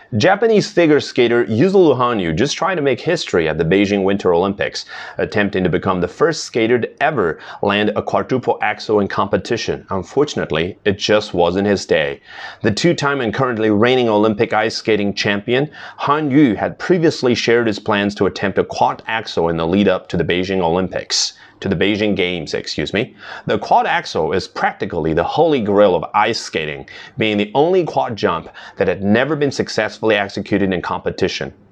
Japanese figure skater Yuzuru Hanyu just tried to make history at the Beijing Winter Olympics, attempting to become the first skater to ever land a quadruple axel in competition. Unfortunately, it just wasn't his day. The two-time and currently reigning Olympic ice skating champion, Hanyu had previously shared his plans to attempt a quad axel in the lead-up to the Beijing Olympics. To the Beijing Games, The quad axel is practically the holy grail of ice skating, being the only quad jump that had never been successfully executed in competition.